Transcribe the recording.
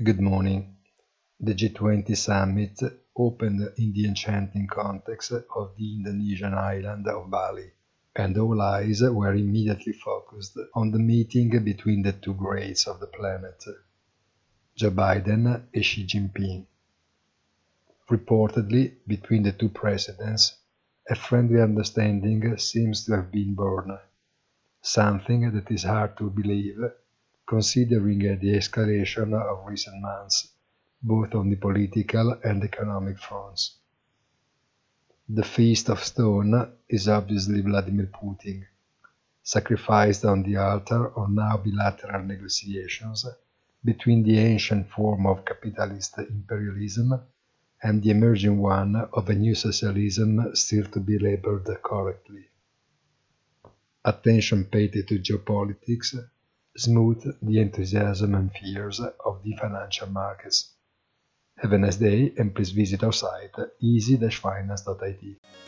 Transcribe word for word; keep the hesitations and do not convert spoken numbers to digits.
Good morning. The G twenty summit opened in the enchanting context of the Indonesian island of Bali, and all eyes were immediately focused on the meeting between the two greats of the planet, Joe Biden and Xi Jinping. Reportedly, between the two presidents, a friendly understanding seems to have been born, something that is hard to believe considering the escalation of recent months, both on the political and economic fronts. The Feast of Stone is obviously Vladimir Putin, sacrificed on the altar of now bilateral negotiations between the ancient form of capitalist imperialism and the emerging one of a new socialism still to be labeled correctly. Attention paid to geopolitics smooth the enthusiasm and fears of the financial markets. Have a nice day and please visit our site easy dash finance dot I T.